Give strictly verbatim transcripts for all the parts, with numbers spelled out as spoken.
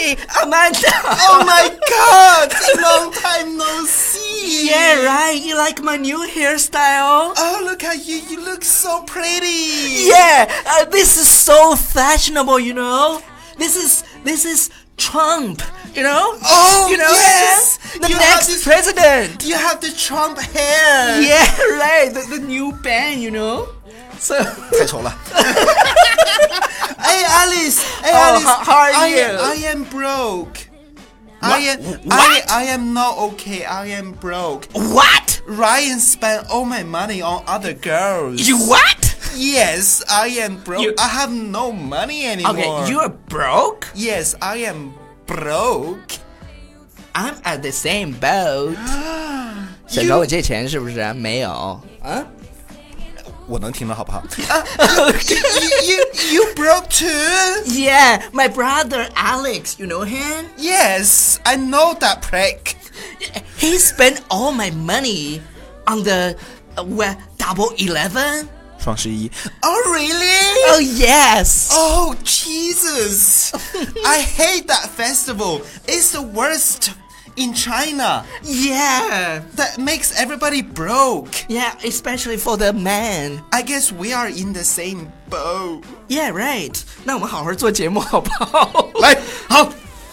Hey, Amanda! Oh my god! Long time no see! Yeah, right. You like my new hairstyle? Oh, look at you. You look so pretty! Yeah, uh, this is so fashionable, you know? This is, this is Trump, you know? Oh, you know, yes! The you have next this, president! You have the Trump hair! Yeah, right. The, the new band, you know? So... 太丑了。Hey Alice, hey Oh, Alice, how- how are I, you? I am broke. What? I am, I, What? I am not okay. I am broke. What? Ryan spent all my money on other girls. You what? Yes, I am broke. You- I have no money anymore. Okay, you're broke? Yes, I am broke. I'm at the same boat. 想找我借钱是不是？没有啊？ 我能听到好不好？ you, you, you broke too? Yeah, my brother Alex, you know him? Yes, I know that prick. He spent all my money on the uh, well, Double Eleven. 双十一 Oh, really? Oh yes. Oh, Jesus. I hate that festival. It's the worst in China. Yeah. That makes everybody broke. Yeah, especially for the man. I guess we are in the same boat. Yeah, right. 那我们好好做节目好不好？ 来，好。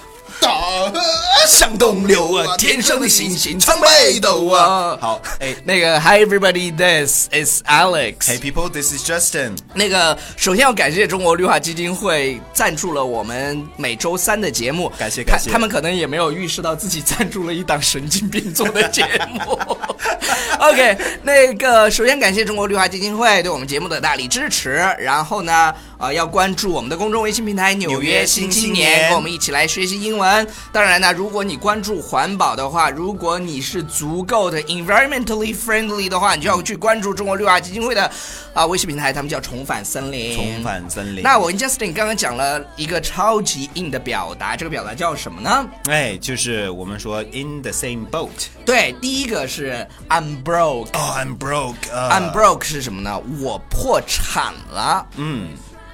向东流啊，天上的星星参北斗啊。 好，哎， 那个 Hi everybody, this is Alex. Hey people, this is Justin. 那个首先要感谢中国绿化基金会赞助了我们每周三的节目， 感谢感谢。 他, 他们可能也没有预示到自己赞助了一档神经病做的节目。OK， 那个首先感谢中国绿化基金会对我们节目的大力支持，然后呢，呃，要关注我们的公众微信平台《纽约新青年》，跟我们一起来学习英文。当然呢，如果你关注环保的话，如果你是足够的 environmentally friendly 的话，你就要去关注中国绿化基金会的啊、呃、微信平台，他们叫重返森林。 重返森林。 那我跟 Justin 刚刚讲了一个超级硬的表达，这个表达叫什么呢？ 哎，就是我们说 in the same boat。 对，第一个是 I'm broke。 Oh, I'm broke. Uh... I'm broke 是什么呢？我破产了。 嗯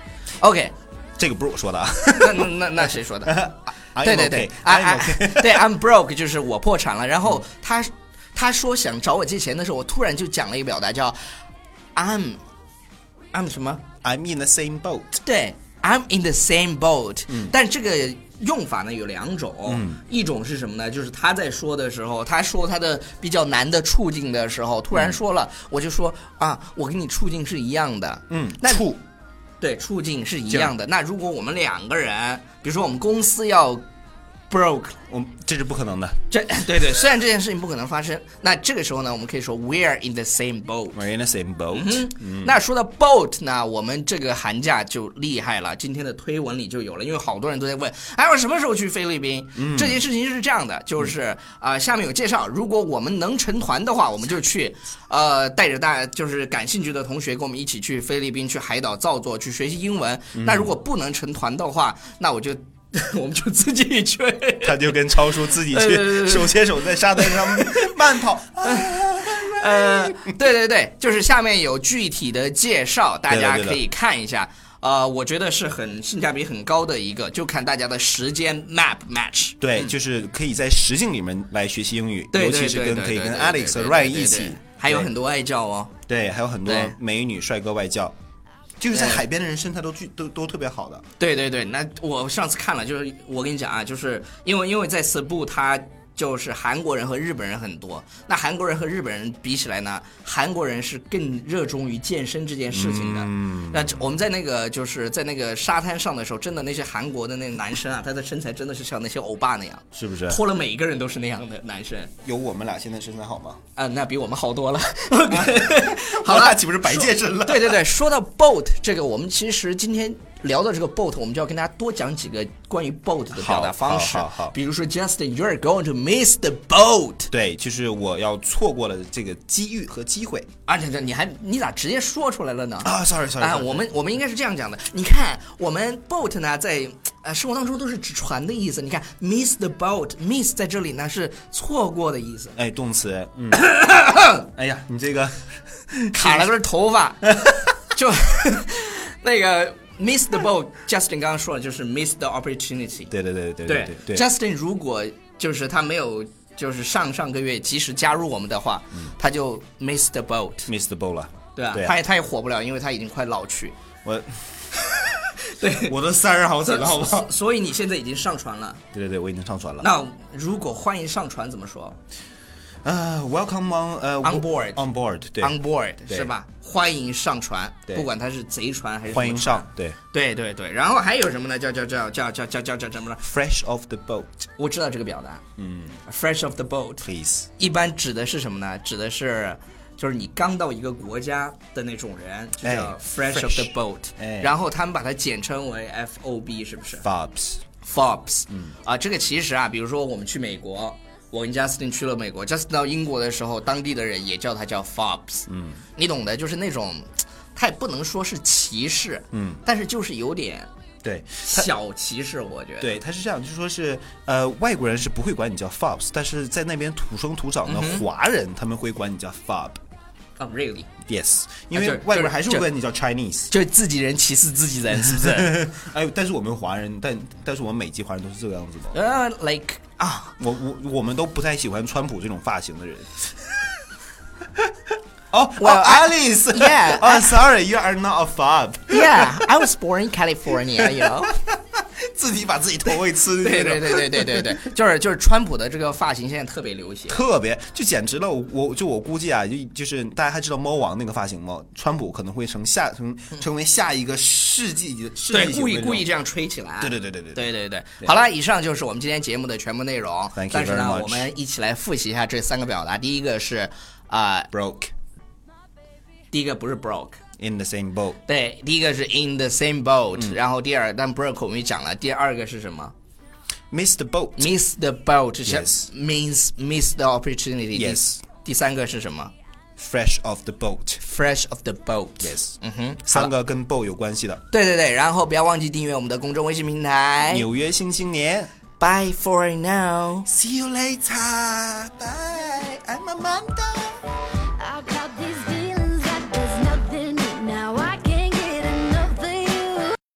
，OK， 这个不是我说的啊。 那那那那谁说的？对对对， 啊啊， 对 ，I'm broke 就是我破产了。然后他他说想找我借钱的时候，我突然就讲了一个表达叫 I'm I'm 什么 ？I'm in the same boat。 对 ，I'm in the same boat。 嗯， 但这个用法呢有两种， 嗯， 一种是什么呢？就是他在说的时候，他说他的比较难的处境的时候，突然说了，嗯、我就说啊，我跟你处境是一样的。 嗯， 那处。 对，处境是一样的。那如果我们两个人，比如说我们公司要 broke， 我这是不可能的。 这对对，虽然这件事情不可能发生，那这个时候呢，我们可以说 we're in the same boat。 We're in the same boat。 嗯嗯， 那说到 boat 呢，我们这个寒假就厉害了，今天的推文里就有了，因为好多人都在问，哎，我什么时候去菲律宾？嗯，这件事情是这样的，就是啊、呃，下面有介绍，如果我们能成团的话，我们就去，呃，带着大就是感兴趣的同学跟我们一起去菲律宾，去海岛造作，去学习英文。嗯、那如果不能成团的话，那我就。我们就自己去， 他就跟超叔自己去，手牵手在沙滩上慢跑。 呃，对对对，就是下面有具体的介绍，大家可以看一下。对对对呃，我觉得是很性价比很高的一个，就看大家的时间 map match。 对，就是可以在实境里面来学习英语， 对尤其是跟可以跟 Alex 和 Ryan 一起， 还有很多外教哦。 对，还有很多美女帅哥外教。就是在海边的人身材都都都特别好的。 对对对，那我上次看了，就是我跟你讲啊，就是因为因为在 Cebu 它就是韩国人和日本人很多，那韩国人和日本人比起来呢，韩国人是更热衷于健身这件事情的。嗯，那我们在那个就是在那个沙滩上的时候，真的那些韩国的那个男生啊，他的身材真的是像那些欧巴那样， 是不是？ 脱了每一个人都是那样的男生。 有我们俩现在身材好吗？ 啊，那比我们好多了。 好了，岂不是白健身了？ 对对对，说到 boat 这个，我们其实今天聊到这个 boat， 我们就要跟大家多讲几个关于 boat 的表达方式。 好，好，好，好。 比如说 Justin, you're going to miss the boat。 对，就是我要错过了这个机遇和机会。 而且这你还你咋直接说出来了呢？ 啊 ，sorry sorry。 啊，我们我们应该是这样讲的。你看，我们 boat 呢，在呃生活当中都是指船的意思。你看 miss the boat，miss 在这里呢是错过的意思。 哎，动词。嗯。哎呀，你这个卡了根头发，就那个。 miss the boat，Justin 刚刚说了就是 miss the opportunity。 对对对对对对对 Justin 如果就是他没有就是上上个月及时加入我们的话，嗯、他就 miss the boat。 miss the boat 了。 对啊， 对啊他也他也火不了，因为他已经快老去。 我。 对， 我的三人好惨了，好不好？ 所以你现在已经上传了。 对对对，我已经上传了。 那如果欢迎上传怎么说？ 呃、uh, ，Welcome on 呃、uh, on board on board 对 on board 是吧？欢迎上传，不管它是贼船还是欢迎上，对对对对。然后还有什么呢？叫叫叫叫叫叫叫叫什么呢 ？Fresh off the boat。 我知道这个表达， 嗯 ，Fresh off the boat。 Please。 一般指的是什么呢？指的是。就是你刚到一个国家的那种人，就叫 fresh of the boat，、哎、然后他们把它简称为 F O B， 是不是 ？Fobs，Fobs， 嗯啊，这个其实啊，比如说我们去美国，我跟 Justin 去了美国 ，Justin 到英国的时候，当地的人也叫它叫 Fobs， 嗯，你懂的，就是那种，他也不能说是歧视，嗯，但是就是有点。 对， 小歧视，我觉得。 对，他是这样，就是说是，呃，外国人是不会管你叫 Fobs， 但是在那边土生土长的华人，嗯、他们会管你叫 Fob。 Oh, really? Yes， 因为外国人还是会管你叫 Chinese， 就自己人歧视自己人，是不是？ 哎，但是我们华人，但但是我们美籍华人都是这个样子的。 呃、uh, ，like 啊， 我我我们都不太喜欢川普这种发型的人。Oh, well, oh, Alice. Yeah. Oh, sorry, you are not a fob. Yeah, I was born in California, you know. 自己把自己头给吃。 对对对对对对对，就是就是川普的这个发型现在特别流行， 特别就简直了。我就我估计啊，就就是大家还知道猫王那个发型吗？川普可能会成下成成为下一个世纪世纪型的。 对，故意故意这样吹起来。 对对对对对对对对对。好了，以上就是我们今天节目的全部内容。 Thank you very much. 但是呢，我们一起来复习一下这三个表达。第一个是啊、呃、 ，broke。 第一个不是 broke。In the same boat， 对，第一个是 in the same boat，、嗯、然后第二，但 broke 我们也讲了，第二个是什么 ？miss the boat，miss the boat，yes， means miss the opportunity，yes， 第三个是什么 ？fresh off the boat，fresh off the boat，yes， 嗯哼，三个跟 boat 有关系的。 对对对，然后不要忘记订阅我们的公众微信平台《 纽约新青年》。 Bye for now， See you later， Bye，I'm Amanda。